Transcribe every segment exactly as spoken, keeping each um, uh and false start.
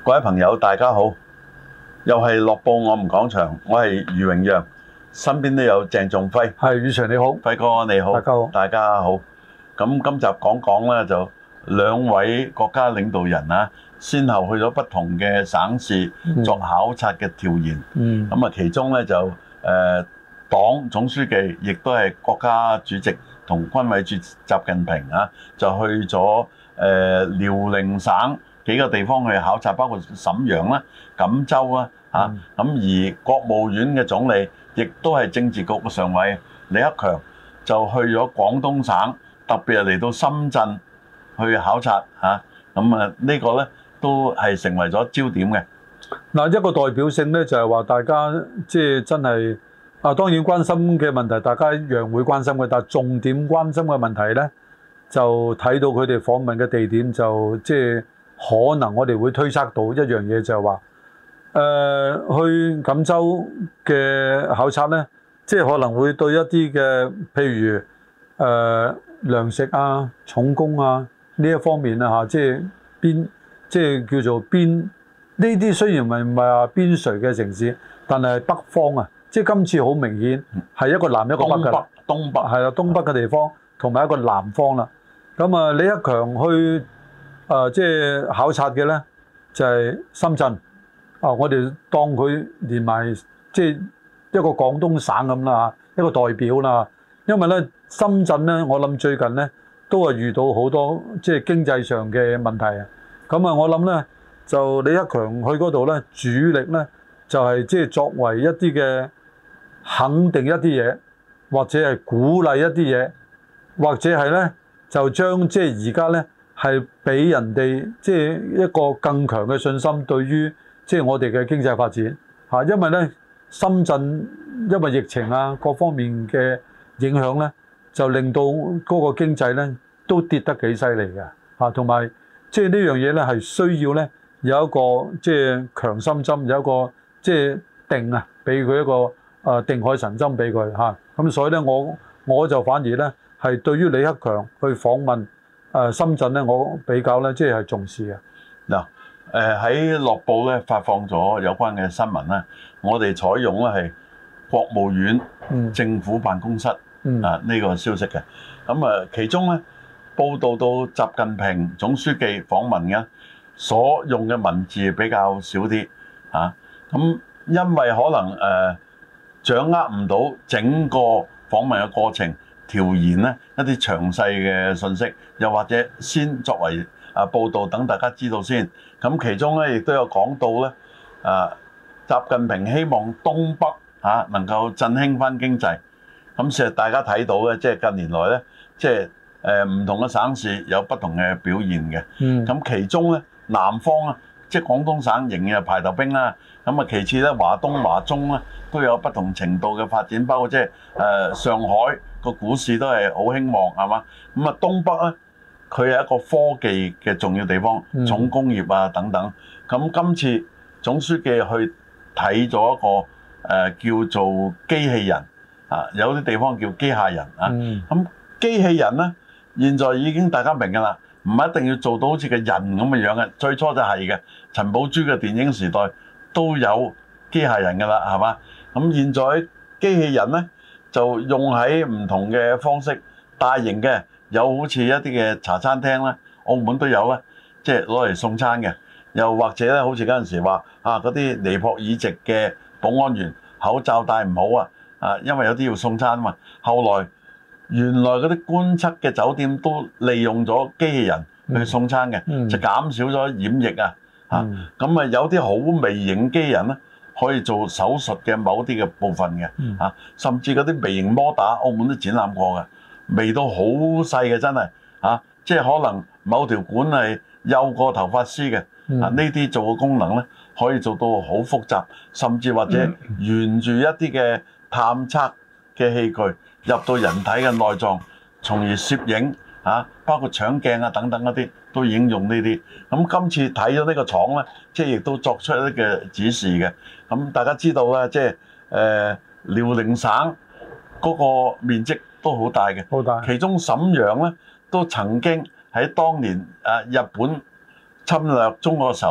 各位朋友，大家好，又係樂報我們講場，我係余榮陽，身邊都有鄭仲輝。 係，余 Sir 你好， 輝哥你好， 大家好， 大家好。咁今集講講咧，就兩位國家領導人啊，先後去咗不同嘅省市作考察嘅調研。嗯。咁啊，其中咧就誒、呃、黨總書記，亦都係國家主席同軍委主席習近平啊，就去咗誒、呃、遼寧省幾個地方去考察，包括瀋陽啦、錦州啦，嚇咁、嗯、而國務院嘅總理，亦都係政治局嘅常委李克強，就去咗廣東省，特別係嚟到深圳去考察嚇。咁啊，呢個咧都係成為咗焦點嘅。 嗱，一個代表性咧就係話大家即係真係啊，當然關心嘅問題，大家一樣會關心嘅，但係重點關心嘅問題咧，就睇到佢哋訪問嘅地點就即係。可能我哋會推測到一樣嘢，就係話誒去錦州嘅考察咧，即係可能會對一啲嘅譬如誒、呃、糧食啊、重工啊呢一方面啊嚇，即係邊即係叫做邊呢啲雖然唔係唔係話邊陲嘅城市，但係北方啊，即係今次好明顯係一個南一個北嘅， 東北東北係啦，東北嘅地方同埋一個南方啦。咁啊，李克強去。誒、呃、即係考察嘅咧，就係、是、深圳。啊、呃，我哋當佢連埋即係一個廣東省咁啦，一個代表啦。因為咧，深圳咧，我諗最近咧都係遇到好多即係經濟上嘅問題啊。咁啊，我諗咧就李克強去嗰度咧，主力咧就係、是、即係作為一啲嘅肯定一啲嘢，或者係鼓勵一啲嘢，或者係咧就將即係而家咧。係俾人哋即係一個更強嘅信心，對於即係我哋嘅經濟發展嚇，因為咧深圳因為疫情啊各方面嘅影響咧，就令到嗰個經濟咧都跌得幾犀利嘅嚇，同埋即係呢樣嘢咧係需要咧有一個即係強心針，有一個即係定啊，俾佢一個誒定海神針俾佢嚇。咁所以咧我我就反而咧係對於李克強去訪問。誒深圳咧，我比較咧，即係重視嘅。 嗱，誒喺樂報咧發放咗有關嘅新聞咧，我哋採用咧係國務院政府辦公室、嗯、啊呢、呢個消息嘅。咁啊，其中咧報道到習近平總書記訪問嘅所用嘅文字比較少啲啊。咁因為可能誒、呃、掌握唔到整個訪問嘅過程。調研咧一啲詳細嘅信息，又或者先作為啊報導等大家知道先。咁其中咧亦都有講到咧，啊習近平希望東北嚇能夠振興翻經濟。咁其實大家睇到咧，即係近年來咧，即係誒唔同嘅省市有不同嘅表現嘅。嗯。咁其中咧南方啊，即係廣東省仍然係排頭兵啦。咁啊其次咧華東、華中咧都有不同程度嘅發展，包括即係誒上海。個股市都係好興旺，係嘛？咁啊，東北咧，佢係一個科技嘅重要地方，重工業啊等等。咁今次總書記去睇咗一個誒、呃、叫做機器人啊，有啲地方叫機械人啊。咁機器人咧，現在已經大家明㗎啦，唔一定要做到好似個人咁嘅樣嘅。最初就係嘅，陳寶珠嘅電影時代都有機械人㗎啦，係嘛？咁現在機器人咧。就用喺唔同嘅方式，大型嘅有好似一啲嘅茶餐廳咧，澳門都有咧，即係攞嚟送餐嘅。又或者咧，好似嗰陣時話啊，嗰啲尼泊爾籍嘅保安員口罩戴唔好啊，啊，因為有啲要送餐啊嘛。後來原來嗰啲觀測嘅酒店都利用咗機器人去送餐嘅，嗯、就減少咗染疫啊。嚇、嗯，咁啊有啲好微型機器人咧。可以做手術嘅某啲嘅部分嘅，啊，甚至嗰啲微型摩打，澳門都展覽過嘅，微到好細嘅真係，啊，即係可能某條管係幼過頭髮絲嘅，啊，呢啲做嘅功能咧，可以做到好複雜，甚至或者沿住一啲嘅探測嘅器具入到人體嘅內臟，從而攝影，啊，包括腸鏡啊等等嗰啲。都已經用呢啲，咁今次睇咗呢個廠咧，即係亦都作出一啲嘅指示嘅。咁大家知道咧，即係誒遼寧省嗰個面積都好大嘅，好大。其中瀋陽咧都曾經喺當年誒日本侵略中國嘅時候咧，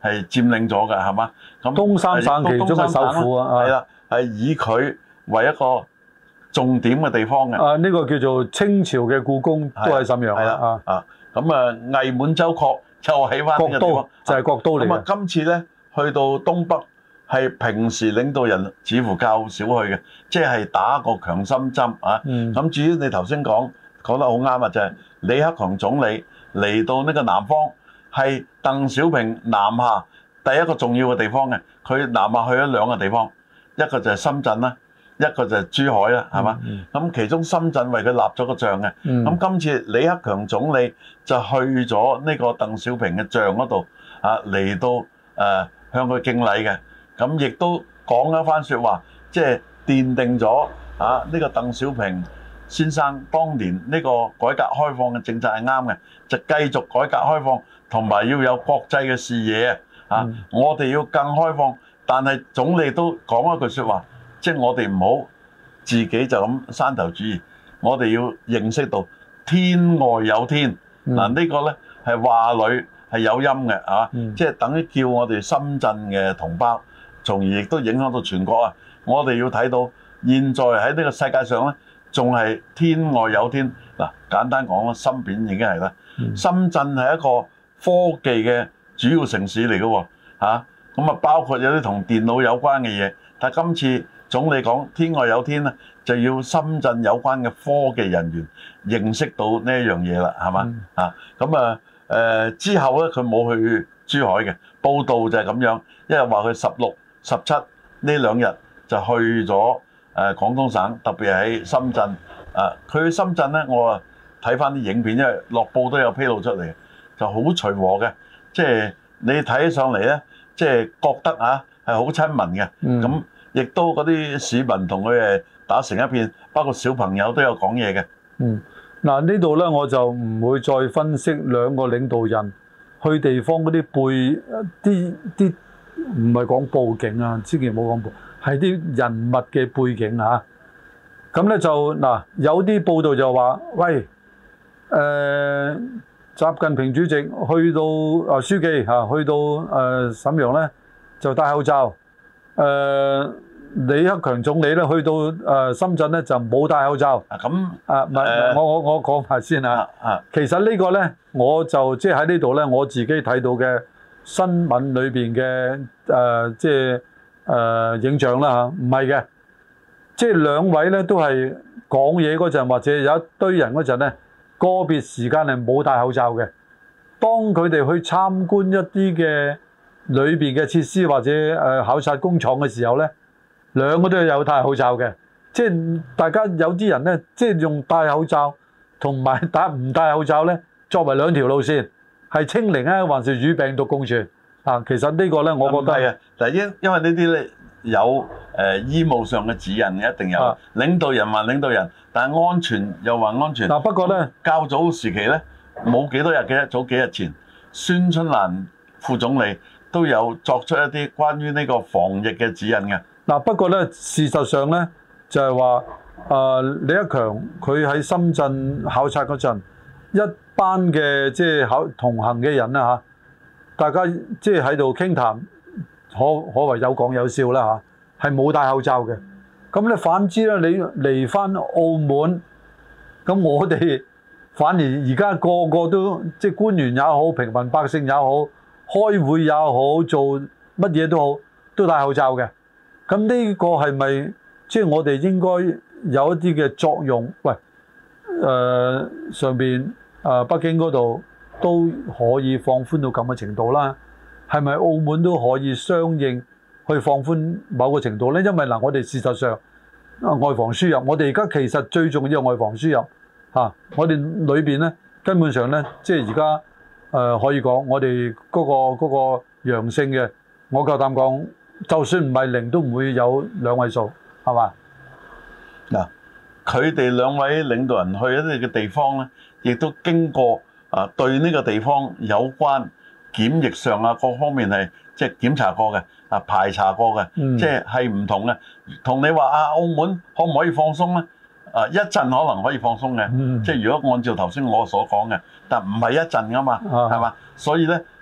係佔領咗㗎，係嘛？咁東三省其中嘅首府啊， 係啦，係以佢為一個重點嘅地方嘅。 啊，呢、這個叫做清朝嘅故宮都係瀋陽啊。 啊，咁啊，偽滿洲國就喺翻呢個地方， 就係、是、國都嚟嘅。咁啊， 今次咧去到東北係平時領導人似乎較少去嘅，即係打個強心針啊。咁、嗯、至於你頭先講講得好啱啊，就係、是、李克強總理嚟到呢個南方，係鄧小平南下第一個重要嘅地方嘅。佢南下去咗兩個地方，一個就係深圳啦，一個就係珠海啦，係嘛？咁、嗯、其中深圳為佢立咗個像嘅。咁、嗯、今次李克強總理就去咗呢個鄧小平嘅像嗰度啊，嚟到誒、呃、向佢敬禮嘅。咁亦都講一番説話，即係奠定咗啊呢個鄧小平先生當年呢個改革開放嘅政策係啱嘅，就繼續改革開放，同埋要有國際嘅視野啊！嗯、我哋要更開放，但係總理都講一句説話，即係我哋唔好自己就咁山頭主義，我哋要認識到天外有天。嗱、嗯啊這個、呢個咧係話裏係有音嘅啊，嗯、即係等於叫我哋深圳嘅同胞，從而亦都影響到全國啊！我哋要睇到現在喺呢個世界上咧，仲係天外有天。嗱，簡單講啦，深圳已經係啦。深圳係一個科技嘅主要城市嚟嘅喎，嚇咁啊，包括有啲同電腦有關嘅嘢。但係今次總理講天外有天咧，就要深圳有關嘅科技人員認識到呢一樣嘢啦，係嘛？啊，咁啊誒之後咧，佢冇去珠海嘅報道就係咁樣，因為話佢十六、十七呢兩日就去咗誒廣東省，特別係喺深圳。啊，佢去深圳咧，我啊睇翻啲影片，因為樂報都有披露出嚟，就好隨和嘅，即係你睇起上嚟咧，即係覺得啊係好親民嘅。咁亦都嗰啲市民同佢誒打成一片，包括小朋友都有講嘢嘅。嗯， 嗱呢度咧我就唔會再分析兩個領導人去地方嗰啲背啲啲，唔係講佈景啊，千祈唔好講佈，係啲人物嘅背景嚇。咁咧就嗱，有啲報道就話，喂，誒、呃，習近平主席去到啊書記嚇，去到誒瀋陽咧就戴口罩，誒、呃、李克強總理咧去到誒深圳咧就冇戴口罩。啊咁啊，唔係、呃，我我我講埋先啊。啊，其實呢個咧，我就即係喺呢度咧，我自己睇到嘅新聞裏邊嘅誒，即係誒影像啦嚇，唔係嘅。即係兩位咧都係講嘢嗰陣，或者有一堆人嗰陣咧，個別時間係冇戴口罩嘅。當佢哋去參觀一啲嘅裏邊嘅設施或者誒考察工廠嘅時候咧，兩個都有戴口罩嘅。即係大家有啲人咧，即係用戴口罩同埋戴唔戴口罩咧，作為兩條路線，係清零啊，還是與病毒共存啊？其實呢個咧，我覺得係啊， 但係因因為呢啲咧。有誒、呃、醫務上嘅指引嘅，一定有。啊、領導人話領導人，但係安全又話安全。嗱、啊，不過咧，較早時期咧冇幾多日嘅，早幾日前，孫春蘭副總理都有作出一啲關於呢個防疫嘅指引嘅。嗱、啊，不過咧，事實上咧就係話誒李克強佢喺深圳考察嗰陣，一班嘅即係考同行嘅人啦嚇、啊，大家即係喺度傾談。可可謂有講有笑啦嚇，係冇戴口罩嘅。咁咧反之咧，你嚟翻澳門，咁我哋反而而家個個都即係官員也好，平民百姓也好，開會也好，做乜嘢都好，都戴口罩嘅。咁呢個係咪即係我哋應該有一啲嘅作用？喂，誒、呃、上邊誒、呃、北京嗰度都可以放寬到咁嘅程度啦。係咪澳門都可以相應去放寬某個程度呢？因為嗱，我哋事實上外防輸入，我哋而家其實最重要係外防輸入嚇、啊。我哋裏邊呢，根本上呢，即係而家誒可以講，我哋嗰個嗰個陽性嘅，我夠膽講，就算唔係零，都唔會有兩位數，係嘛？嗱，佢哋兩位領導人去一啲嘅地方呢，亦都經過啊對呢個地方有關檢疫上啊，各方面係即係檢查過嘅，啊排查過嘅，嗯、即係係唔同嘅。同你話啊，澳門可唔可以放鬆咧？啊一陣可能可以放鬆嘅，嗯、即係如果按照頭先我所講嘅，但唔係一陣噶嘛，係嘛、啊？所以咧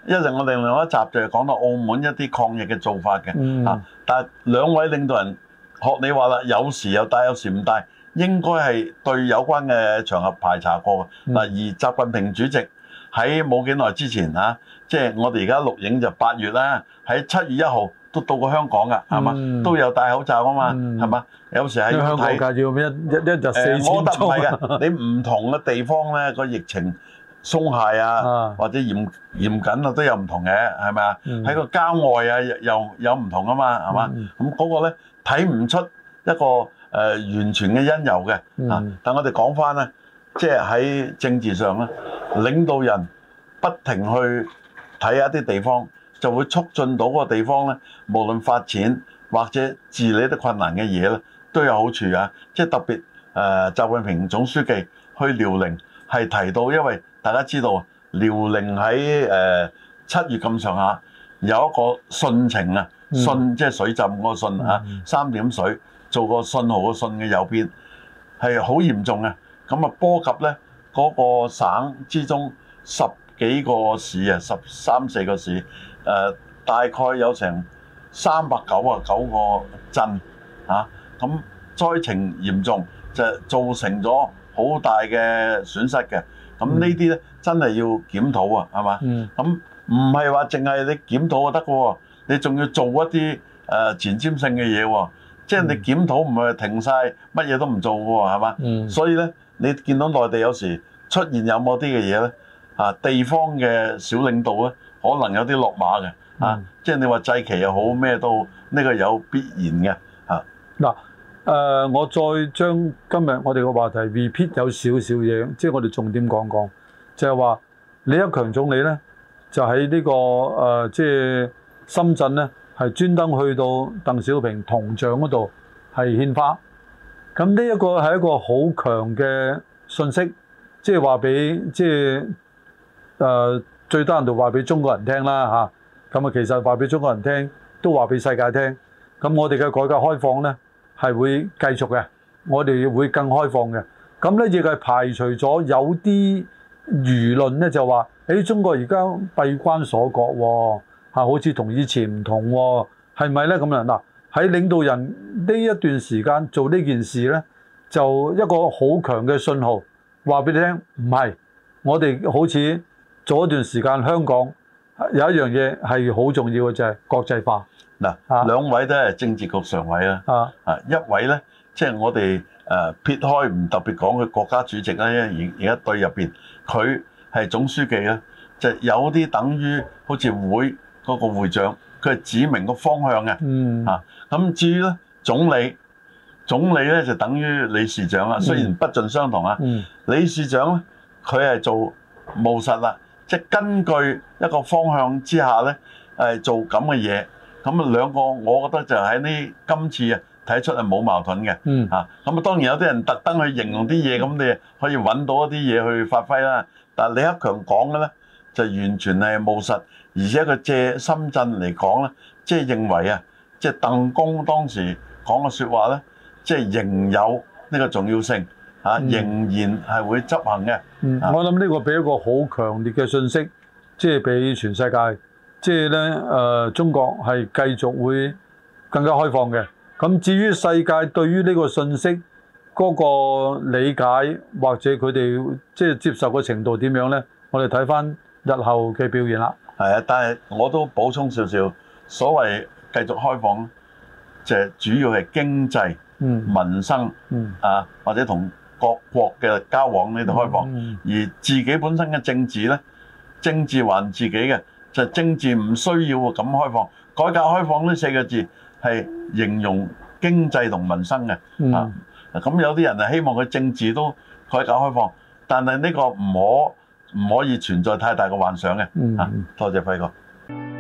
一陣我哋另外一集就係講到澳門一啲抗疫嘅做法嘅， 嗯、 啊，但係兩位領導人學你話啦，有時有帶，有時唔帶，應該係對有關嘅場合排查過嘅。嗱、嗯，而習近平主席喺冇幾耐之前嚇，即、啊、係、就是、我哋而家錄影就八月啦，喺七月一號都到過香港㗎，係嘛、嗯？都有戴口罩啊嘛，係嘛、嗯？有時喺香港要一一一日四千、呃、我覺得唔係嘅，你唔同嘅地方咧個疫情鬆懈啊，啊或者嚴嚴謹啊都有唔同嘅，係咪啊？喺、嗯、個郊外啊又有唔同啊嘛，係嘛？咁嗰、嗯、個咧睇唔出一個誒、呃、完全嘅因由嘅、嗯、啊。但我哋講翻咧，即係喺政治上咧，領導人不停去睇一啲地方，就會促進到嗰個地方咧，無論發展或者治理得困難嘅嘢咧，都有好處啊。即係特別誒、呃，習近平總書記去遼寧係提到，因為大家知道遼寧喺誒七月咁上下有一個汛情啊，汛、嗯、即係水浸嗰個汛啊，三點水做個信號嘅信嘅右邊係好嚴重嘅，咁啊波及咧嗰個省之中十幾個市啊，十三四個市，誒、呃、大概有成三百九啊九個鎮啊，咁災情嚴重就造成咗好大嘅損失嘅。咁呢啲咧真係要檢討啊，係嘛？咁唔係話淨係你檢討就得嘅喎，你仲要做一啲誒前瞻性嘅嘢喎。即係你檢討唔係停晒，乜嘢都唔做嘅喎，係嘛？嗯、所以咧，你見到內地有時出現有某啲嘅嘢咧，啊地方嘅小領導咧，可能有啲落馬嘅，啊，嗯、即係你話祭旗又好咩都好，呢個有必然嘅，啊嗱。誒、呃，我再將今日我哋個話題 repeat 有少少嘢，即係我哋重點講講，就係話李克強總理咧，就喺呢、這個誒、呃，即係深圳咧，係專登去到鄧小平銅像嗰度係獻花。咁呢一個係一個好強嘅信息，即係話俾即係誒、呃、最低限度話俾中國人聽啦嚇。咁啊，其實話俾中國人聽，都話俾世界聽。咁我哋嘅改革開放咧，係會繼續嘅，我哋會更開放嘅。咁咧亦係排除咗有啲輿論咧就話，誒中國而家閉關鎖國喎，嚇好似同以前唔同喎，係咪咧咁樣？嗱，喺領導人呢一段時間做呢件事咧，就一個好強嘅信號，話俾你聽，唔係我哋好似做一段時間香港有一樣嘢係好重要嘅，就係國際化。嗱，兩位都係政治局常委啦，啊，啊一位咧，即係我哋誒撇開唔特別講佢國家主席啦，因為而而家隊入邊佢係總書記咧，就有啲等於好似會嗰個會長，佢係指明個方向嘅，嗯，啊，咁至於咧總理，總理咧就等於理事長啦，雖然不盡相同啊，嗯，理事長咧佢係做務實啦，即係根據一個方向之下咧，誒做咁嘅嘢。咁啊兩個，我覺得就喺呢今次啊睇出係冇矛盾嘅，嗯啊，咁啊當然有啲人特登去形容啲嘢，咁你可以揾到一啲嘢去發揮啦。但係李克強講嘅咧就完全係務實，而且佢借深圳嚟講咧，即係認為啊，即係鄧公當時講嘅説話咧，即係仍有呢個重要性嚇，仍然係會執行嘅。 嗯，我諗呢個俾一個好強烈嘅信息，即係俾全世界。即係咧，誒、呃、中國係繼續會更加開放嘅。咁至於世界對於呢個信息嗰個理解或者佢哋即係接受嘅程度點樣咧？我哋睇翻日後嘅表現啦。 係啊，但係我都補充少少，所謂繼續開放，就係主要係經濟、嗯、民生、嗯、啊，或者同各國嘅交往呢度開放，嗯嗯、而自己本身嘅政治咧，政治還自己嘅。就政治唔需要咁開放，改革開放呢四個字係形容經濟同民生嘅。嗯、啊，咁有啲人係希望佢政治都改革開放，但係呢個唔可唔可以存在太大嘅幻想嘅。嗯、啊，多謝輝哥。